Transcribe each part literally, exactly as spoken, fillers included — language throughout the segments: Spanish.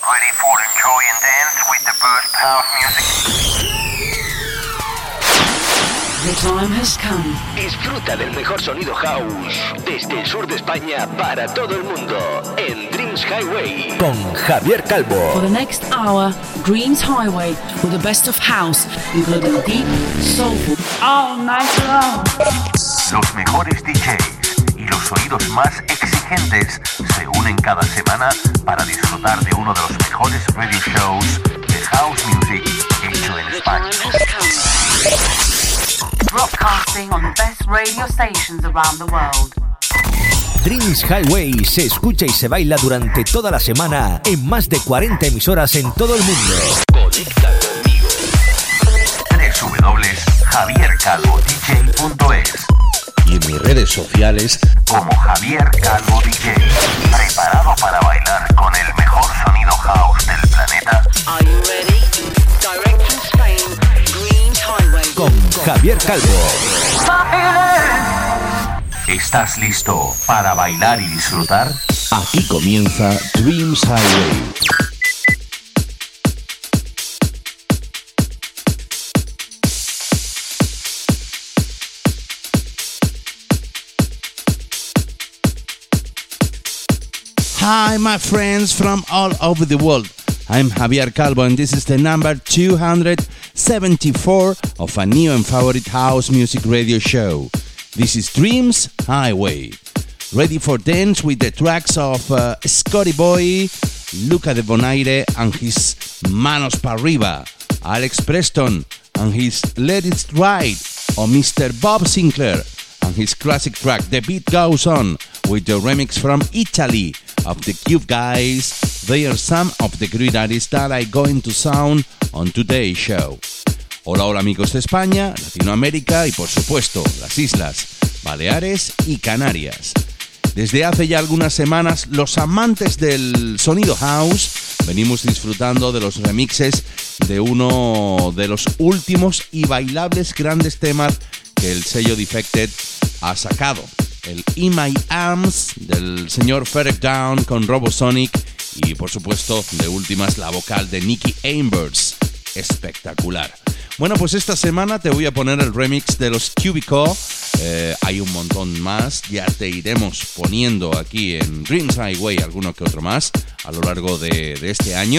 Ready for enjoy and dance with the best house music? The time has come. Disfruta del mejor sonido house desde el sur de España para todo el mundo en Dreams Highway con Javier Calvo. For the next hour, Dreams Highway with the best of house, including deep, soulful, all night long. Los mejores D Js y los oídos más exigentes se unen cada semana para disfrutar de uno de los mejores radio shows de house music hecho en España. Broadcasting on the best radio stations around the world. Dreams Highway se escucha y se baila durante toda la semana en más de cuarenta emisoras en todo el mundo. Conecta conmigo. doble u doble u doble u punto javier calvo d j punto es y en mis redes sociales como Javier Calvo D J. ¿Preparado para bailar con el mejor sonido house del planeta? Are you ready? Direct from Spain, Dreams Highway. Con Javier Calvo. ¿Estás listo para bailar y disfrutar? Aquí comienza Dreams Highway. Hi, my friends from all over the world. I'm Javier Calvo, and this is the number two hundred seventy-four of a new and favorite house music radio show. This is Dreams Highway. Ready for dance with the tracks of uh, Scotty Boy, Luca de Bonaire and his Manos Pa' Arriba, Alex Preston and his Let It Ride, or Mister Bob Sinclair and his classic track The Beat Goes On, with the remix from Italy of the Cube Guys. They are some of the great artists that are going to sound on today's show. Hola, hola amigos de España, Latinoamérica y por supuesto las Islas Baleares y Canarias. Desde hace ya algunas semanas, los amantes del sonido house venimos disfrutando de los remixes de uno de los últimos y bailables grandes temas que el sello Defected ha sacado. El In My Arms del señor Ferrek Down con Robosonic y por supuesto de últimas la vocal de Nicky Ambers. Espectacular. Bueno, pues esta semana te voy a poner el remix de los Cubico. Eh, hay un montón más, ya te iremos poniendo aquí en Dreams Highway alguno que otro más a lo largo de, de este año.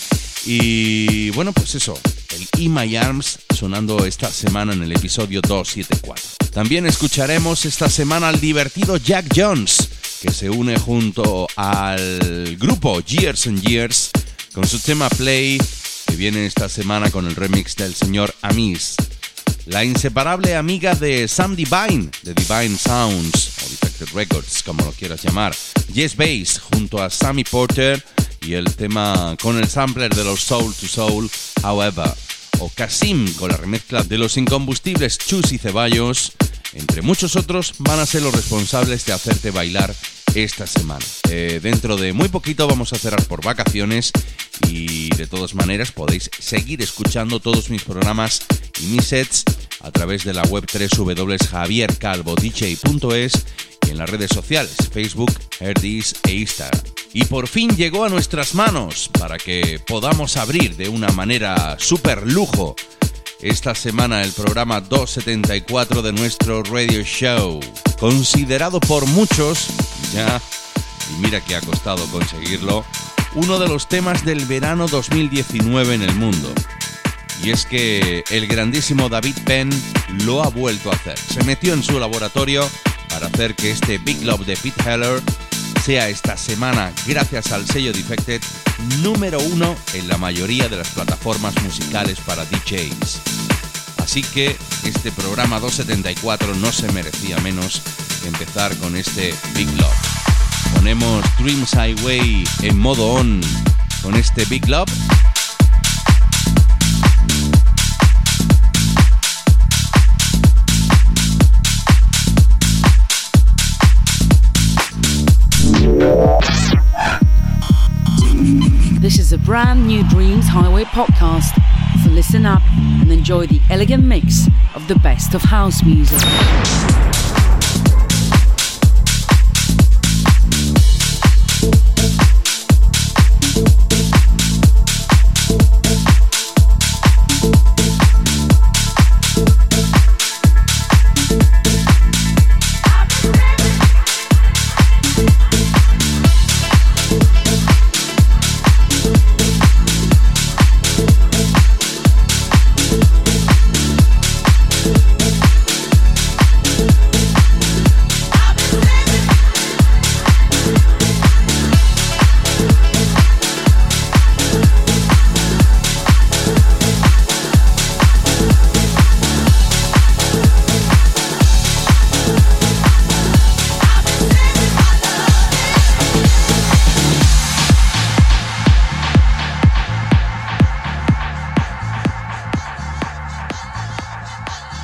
Y bueno, pues eso, el In My Arms sonando esta semana en el episodio doscientos setenta y cuatro. También escucharemos esta semana al divertido Jack Jones, que se une junto al grupo Years and Years con su tema Play, que viene esta semana con el remix del señor Amis. La inseparable amiga de Sam Divine, de Divine Sounds, o Defected Records, como lo quieras llamar, Jess Bass, junto a Sammy Porter, y el tema con el sampler de los Soul to Soul, However, o Kasim con la remezcla de los incombustibles Chus y Ceballos, entre muchos otros, van a ser los responsables de hacerte bailar esta semana. Eh, dentro de muy poquito vamos a cerrar por vacaciones y de todas maneras podéis seguir escuchando todos mis programas y mis sets a través de la web doble u doble u doble u punto javier calvo d j punto es y en las redes sociales Facebook, Herdis e Instagram. Y por fin llegó a nuestras manos para que podamos abrir de una manera súper lujo esta semana el programa doscientos setenta y cuatro de nuestro radio show, considerado por muchos, ya, y mira que ha costado conseguirlo, uno de los temas del verano dos mil diecinueve en el mundo. Y es que el grandísimo David Penn lo ha vuelto a hacer. Se metió en su laboratorio para hacer que este Big Love de Pete Heller sea esta semana, gracias al sello Defected, número uno en la mayoría de las plataformas musicales para D Js. Así que este programa doscientos setenta y cuatro no se merecía menos que empezar con este Big Love. Ponemos Dreams Highway en modo on con este Big Love. This is a brand new Dreams Highway podcast, so listen up and enjoy the elegant mix of the best of house music.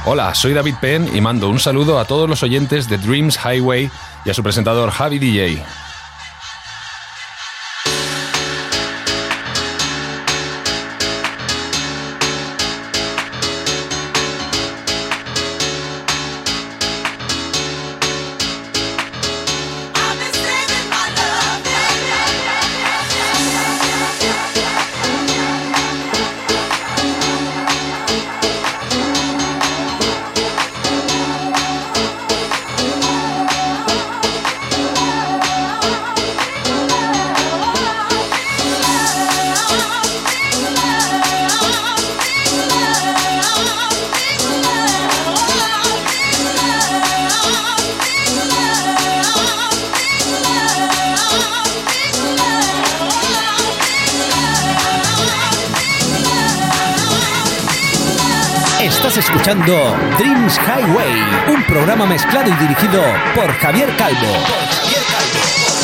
Hola, soy David Penn y mando un saludo a todos los oyentes de Dreams Highway y a su presentador Javi D J. Estás escuchando Dreams Highway, un programa mezclado y dirigido por Javier Calvo. Por Javier Calvo.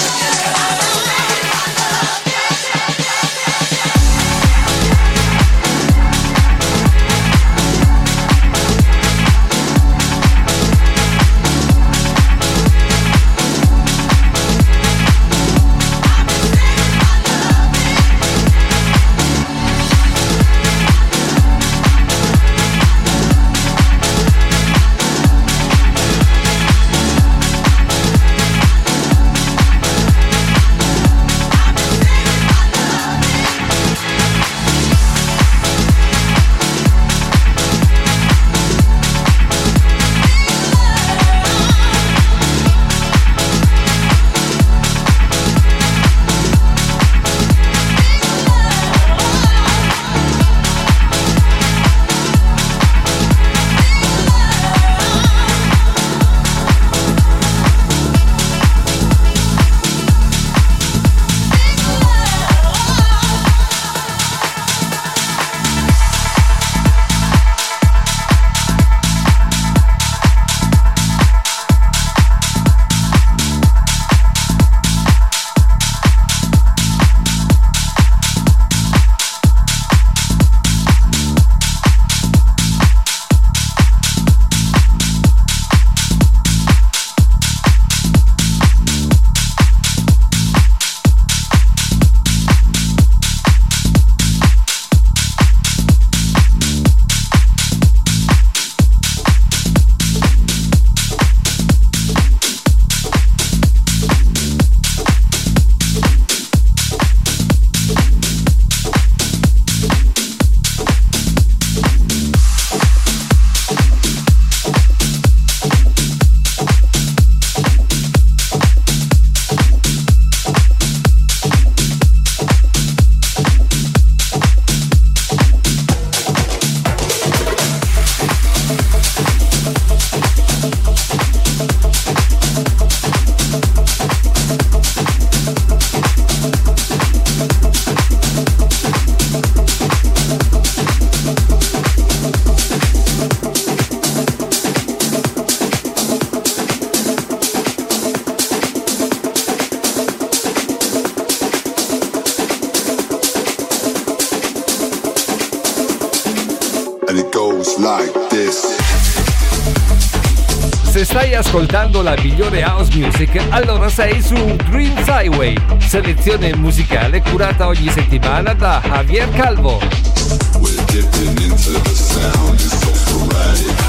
Se stai ascoltando la migliore house music, allora sei su Dreams Highway, selezione musicale curata ogni settimana da Javier Calvo. We're dipping into the sound, it's so sporadic.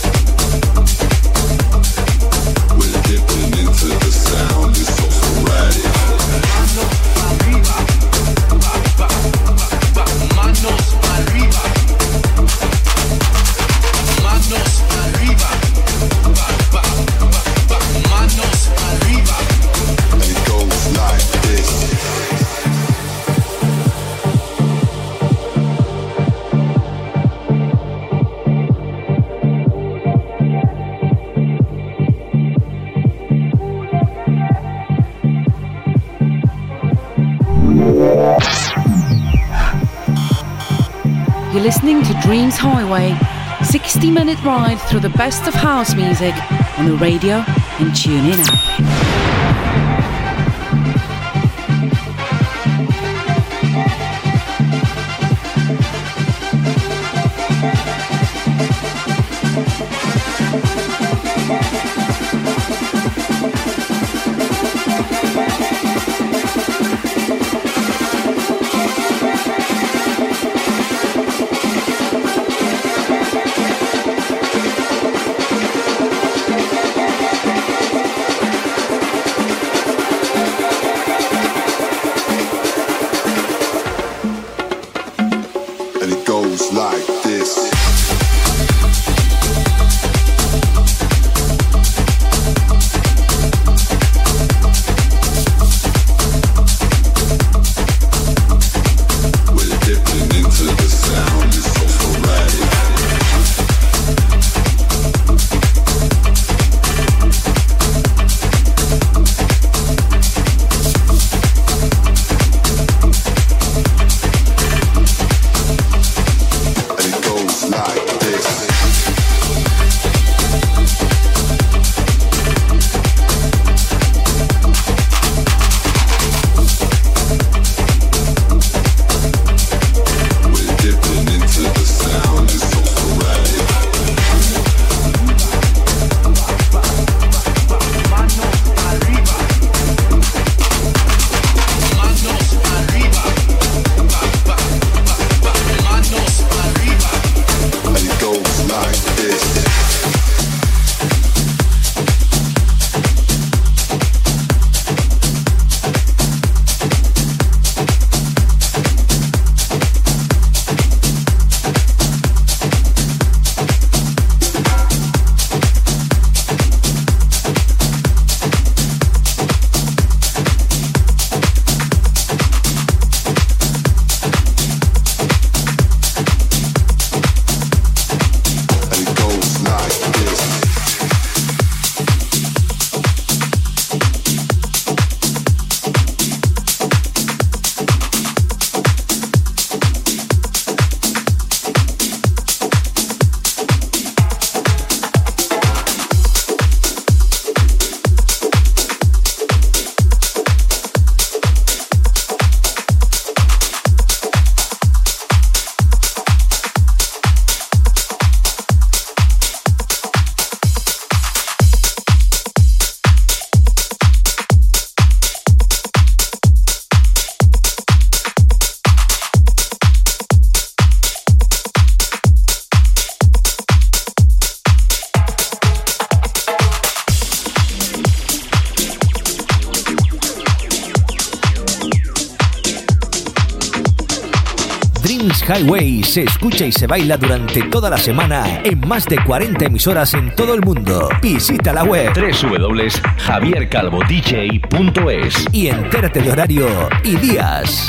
We're dipping into the sound, it's so sporadic. listening to Dreams Highway, sixty minute ride through the best of house music on the radio and TuneIn app. Highway se escucha y se baila durante toda la semana en más de cuarenta emisoras en todo el mundo. Visita la web doble u doble u doble u punto javier calvo d j punto es y entérate de horario y días.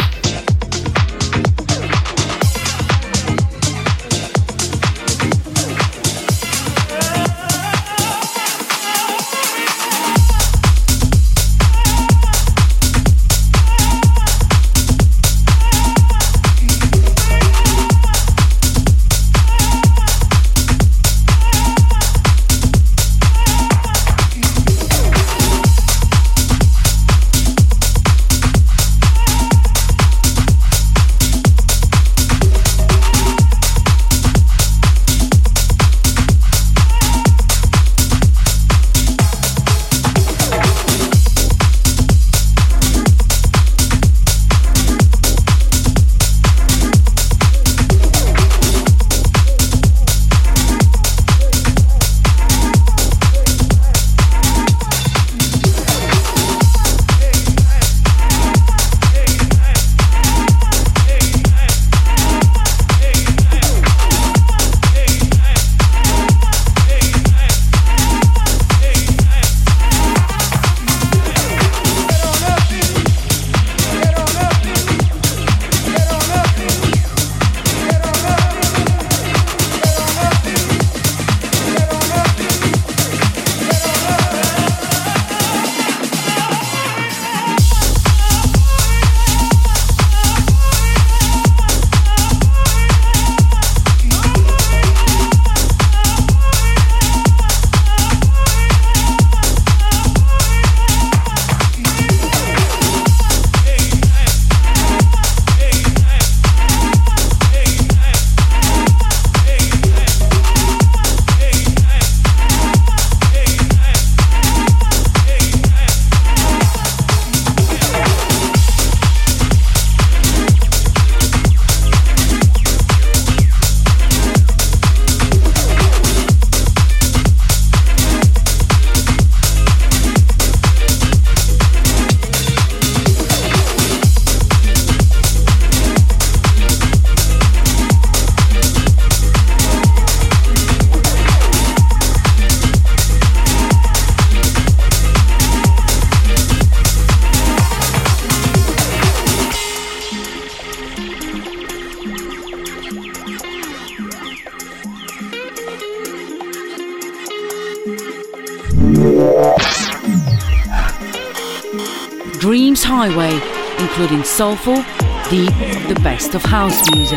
Dreams Highway, including soulful, deep, the best of house music.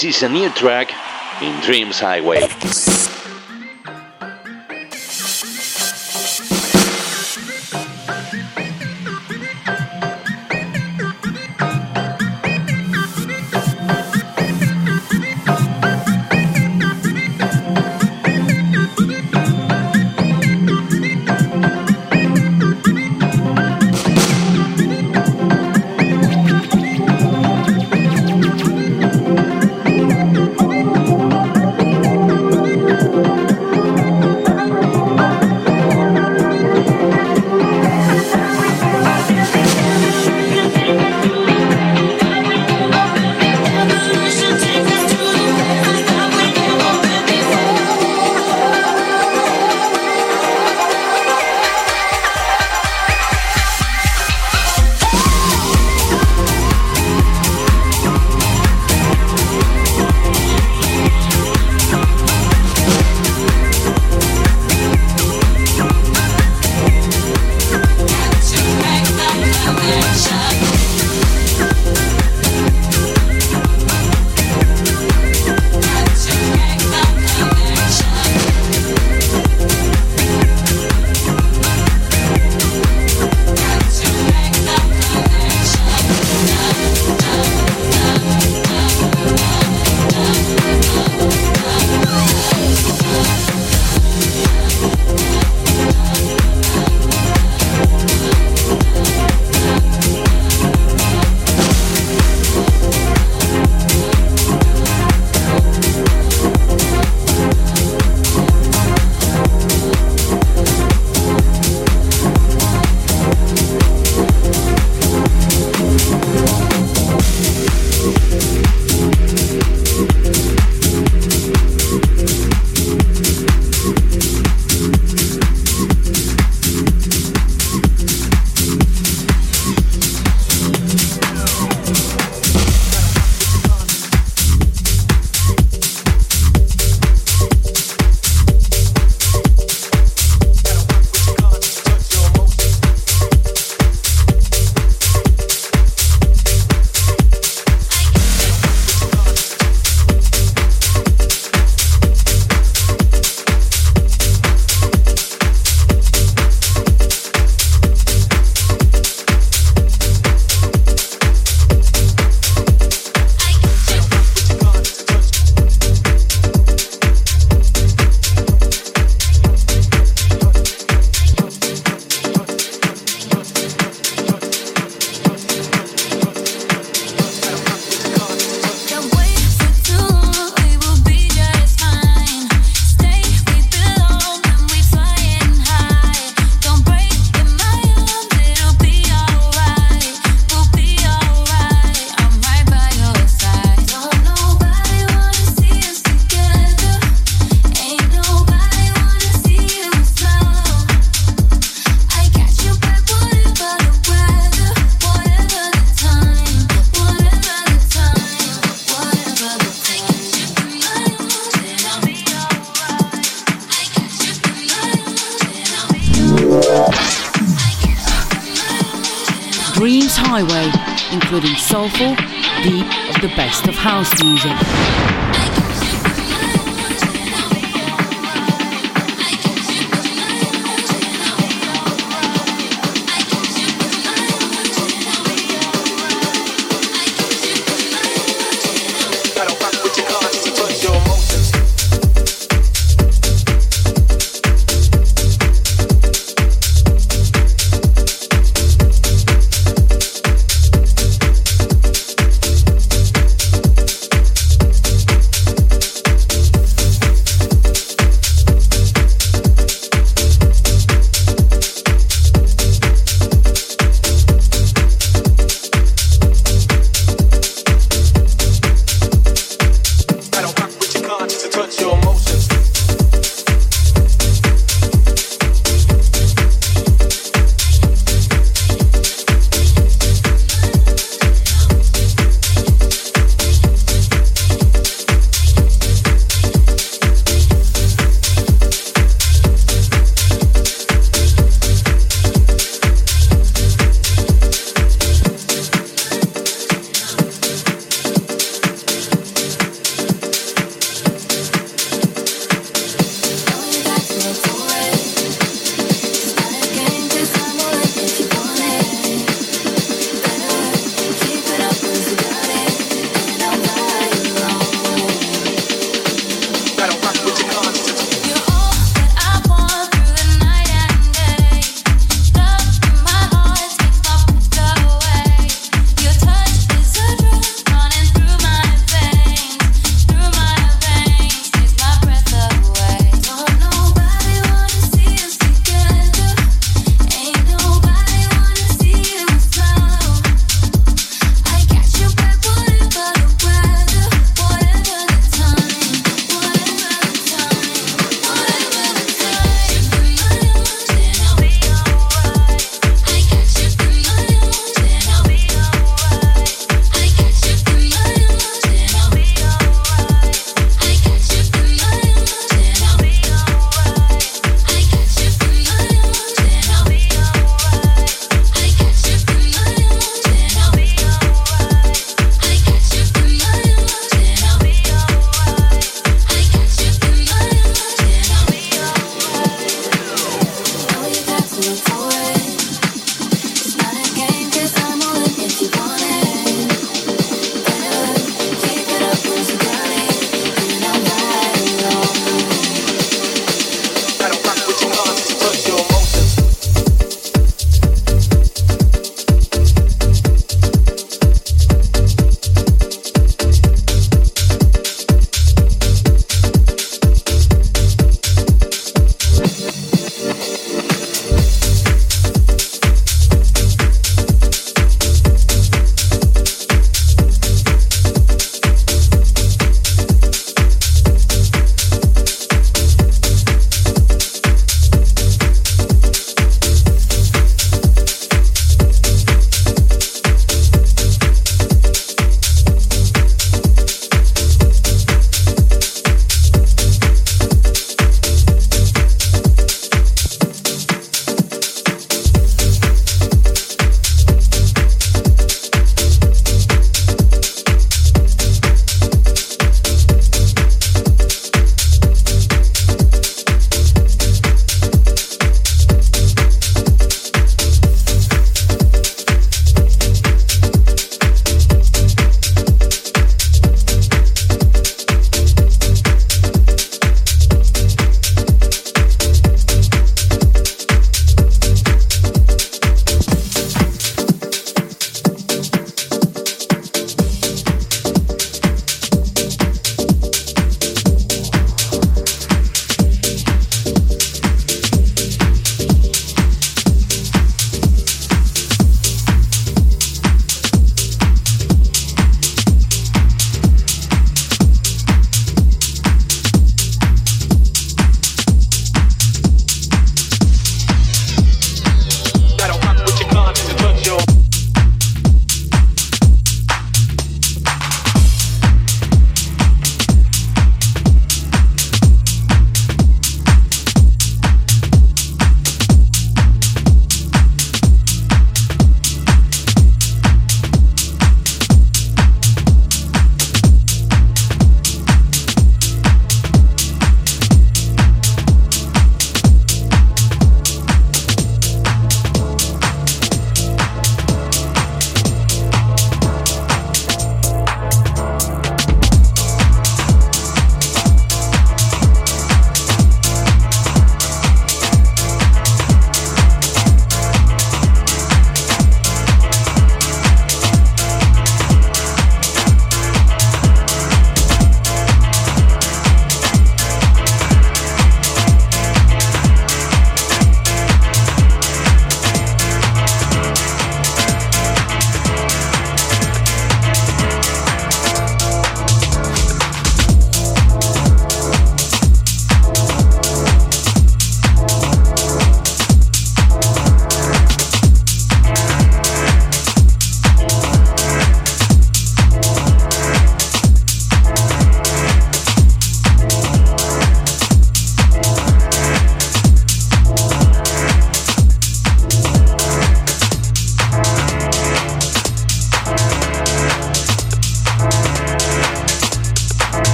This is a new track in Dreams Highway. Dreams Highway, including soulful, deep of the best of house music.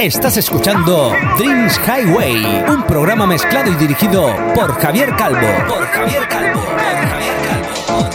Estás escuchando Dreams Highway, un programa mezclado y dirigido por Javier Calvo. Por Javier Calvo. Por Javier Calvo.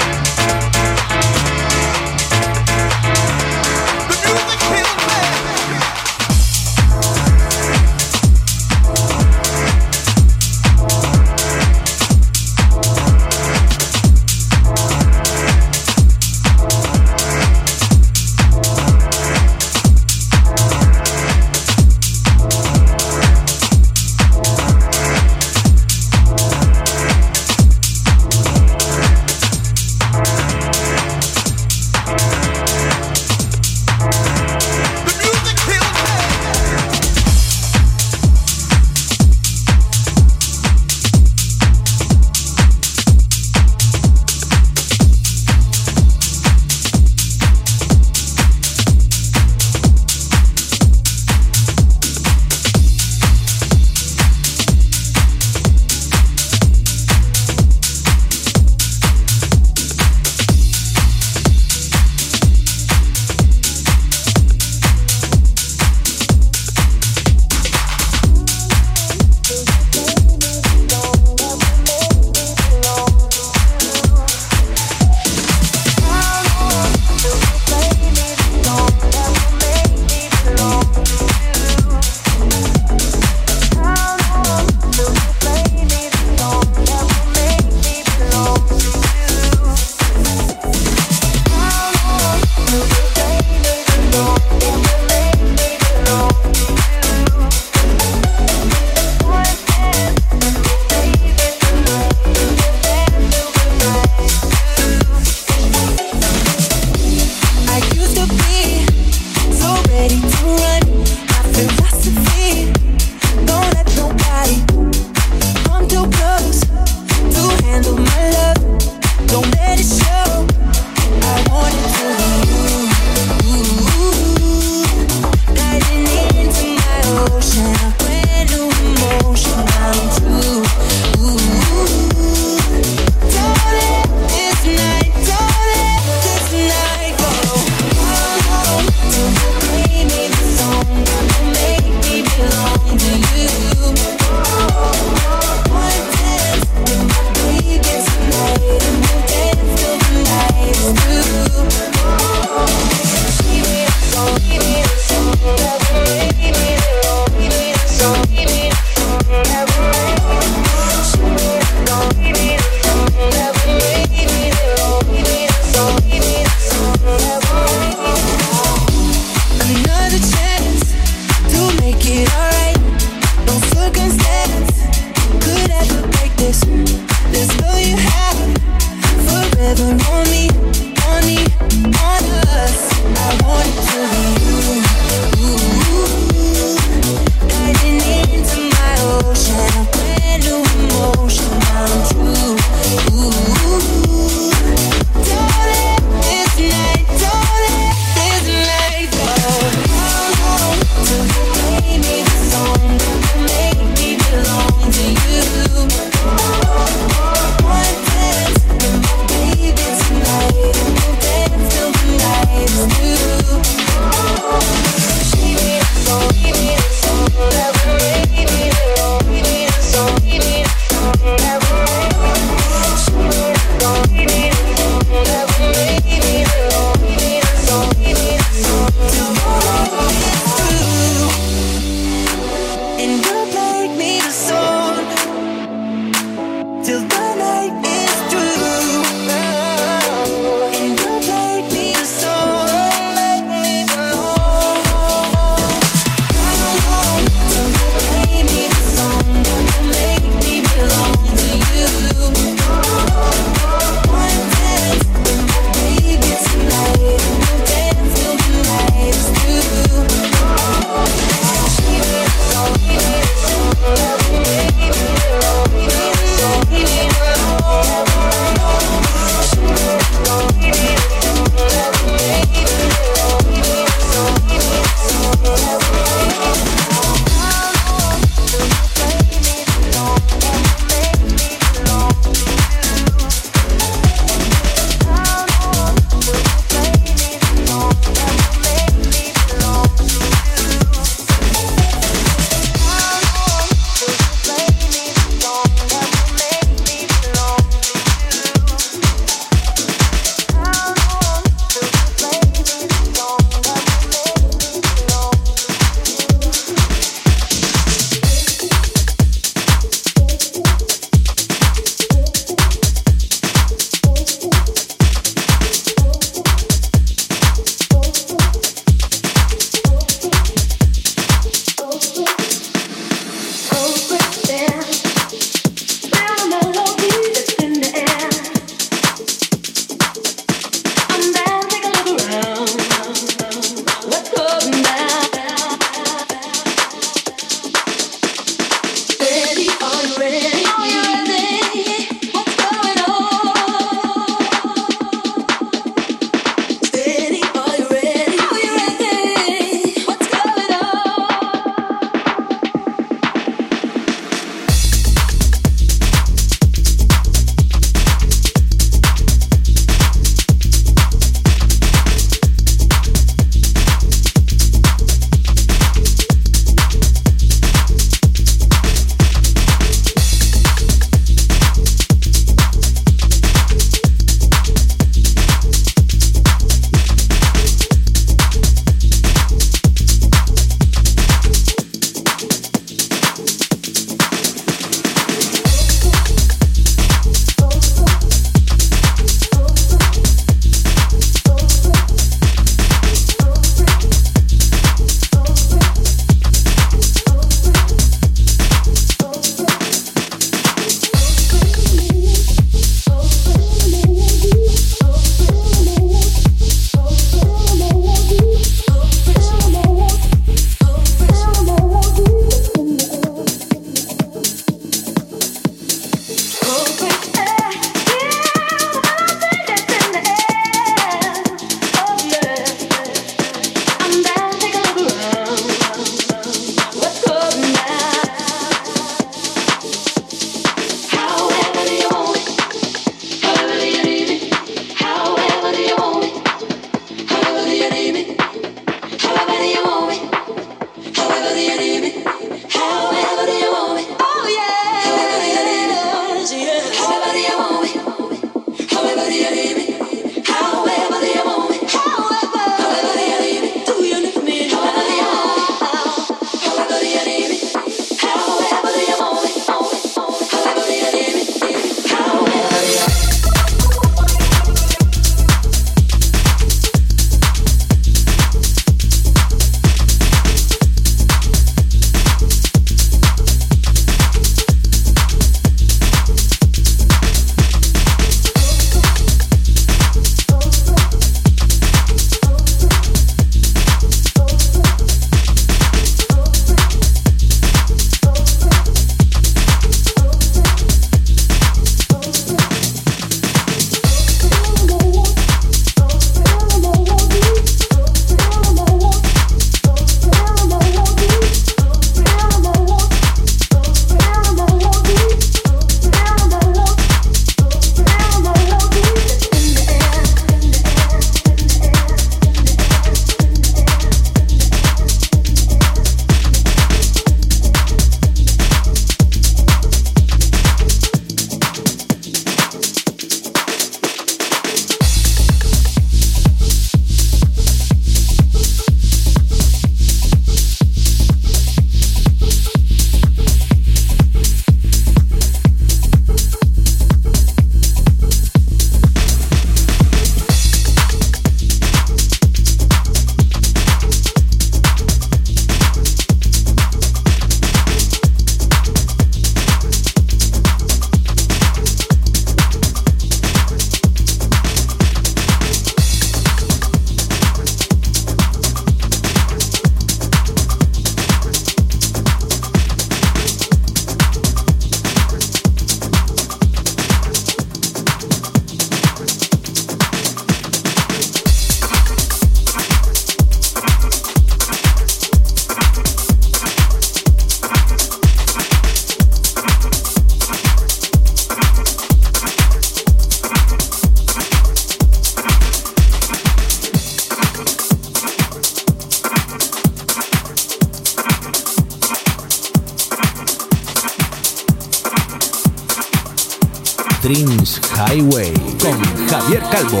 Dreams Highway con Javier Calvo.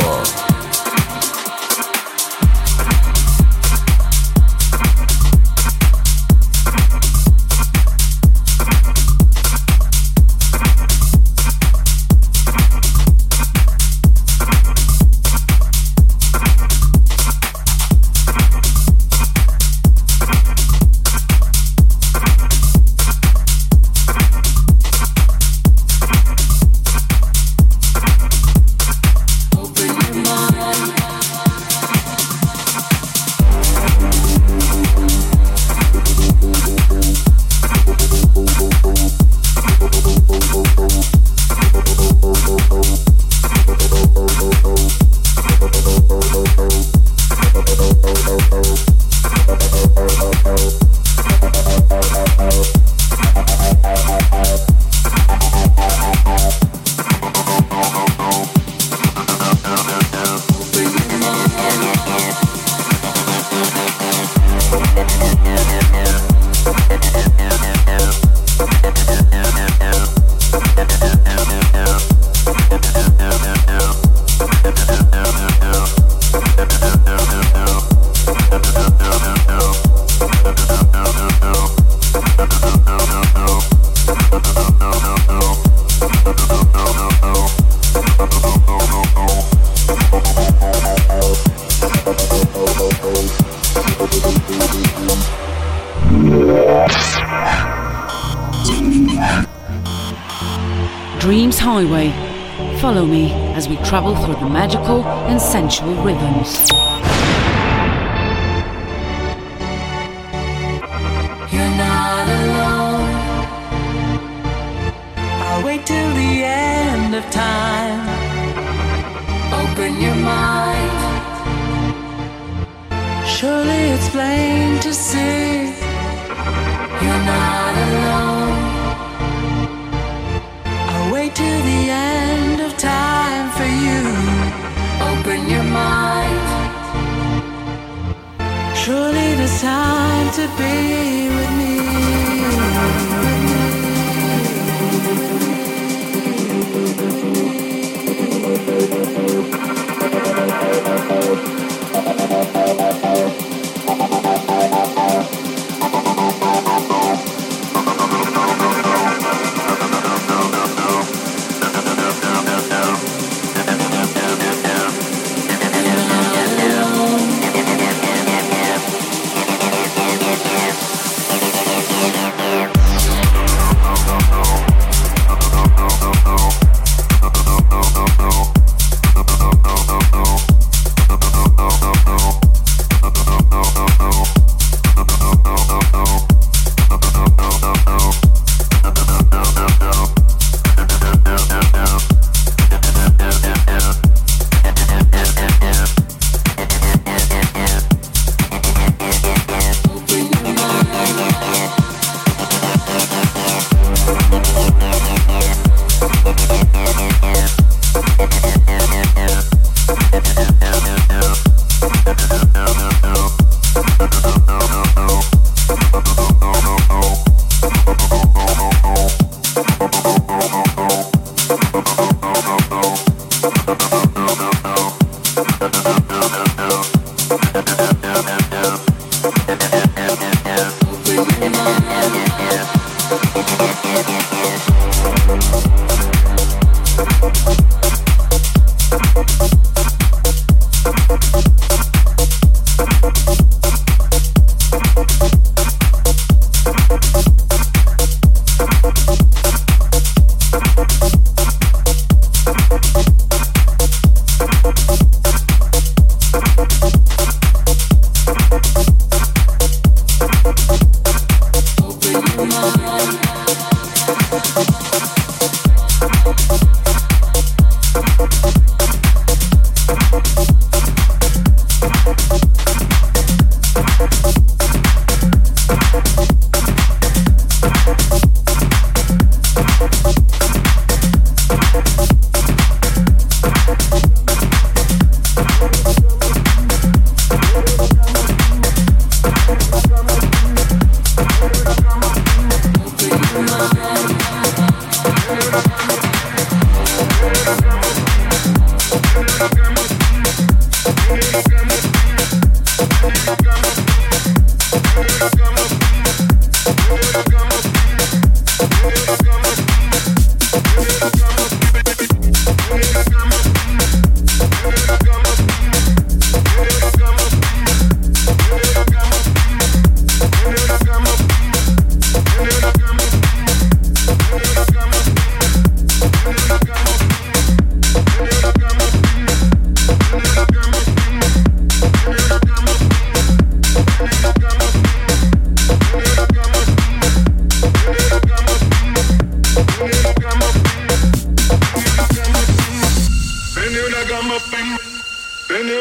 Dreams Highway. Follow me as we travel through the magical and sensual rhythms. You're not alone. I'll wait till the end of time. Open your mind. Surely it's plain to see. You're not alone. I'll wait till the end of time for you. Open your mind. Surely there's time to be with me.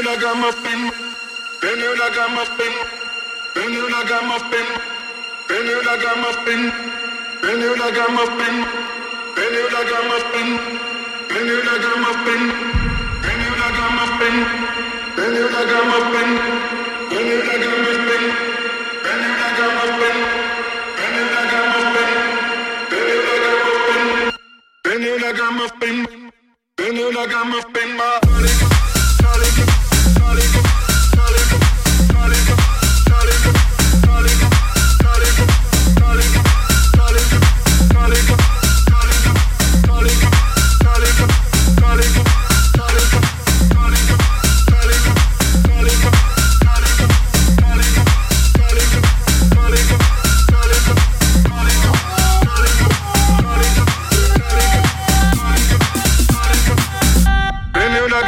ragamuffin, then you ragamuffin, then you ragamuffin, then you ragamuffin, then you ragamuffin, then you ragamuffin, then you ragamuffin, then you ragamuffin, then you ragamuffin, then you ragamuffin, then you ragamuffin, then you ragamuffin, then you ragamuffin, then you ragamuffin, then you ragamuffin, my Then you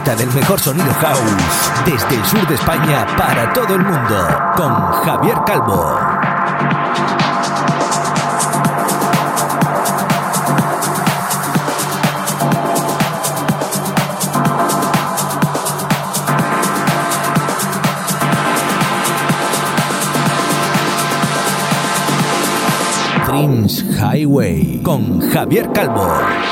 disfruta del mejor sonido house desde el sur de España para todo el mundo con Javier Calvo. Dreams Highway con Javier Calvo.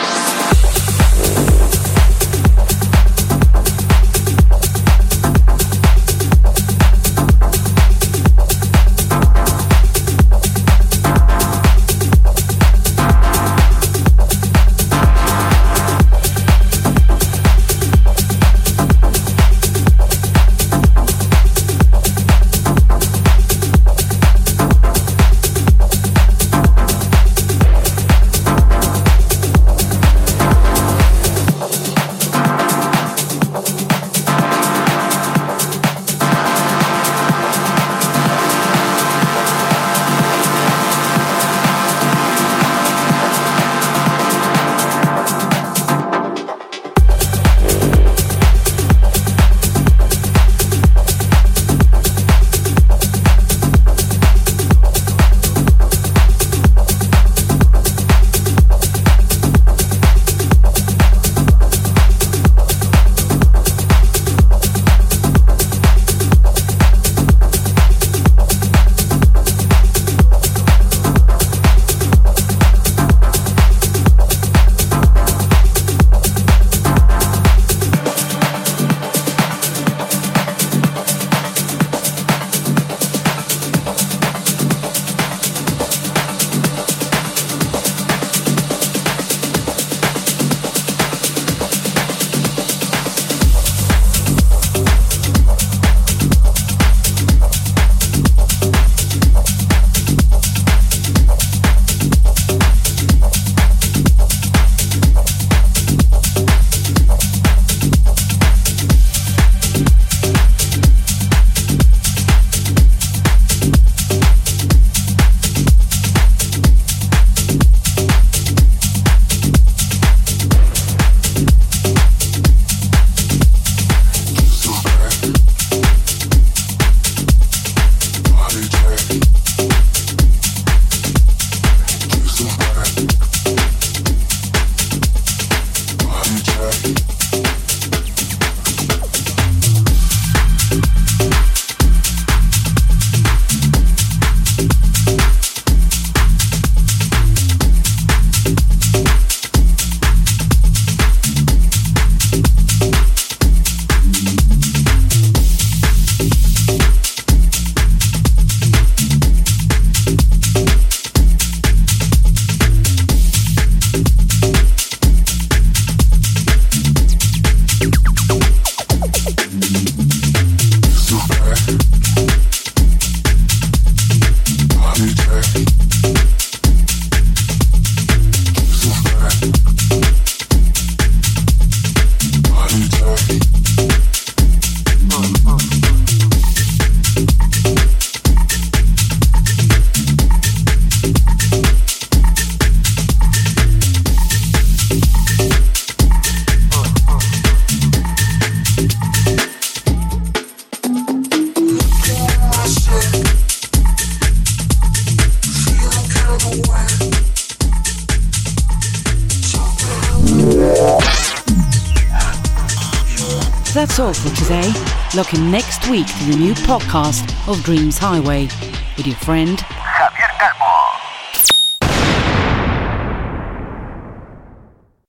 That's all for today. Look in next week to the new podcast of Dreams Highway with your friend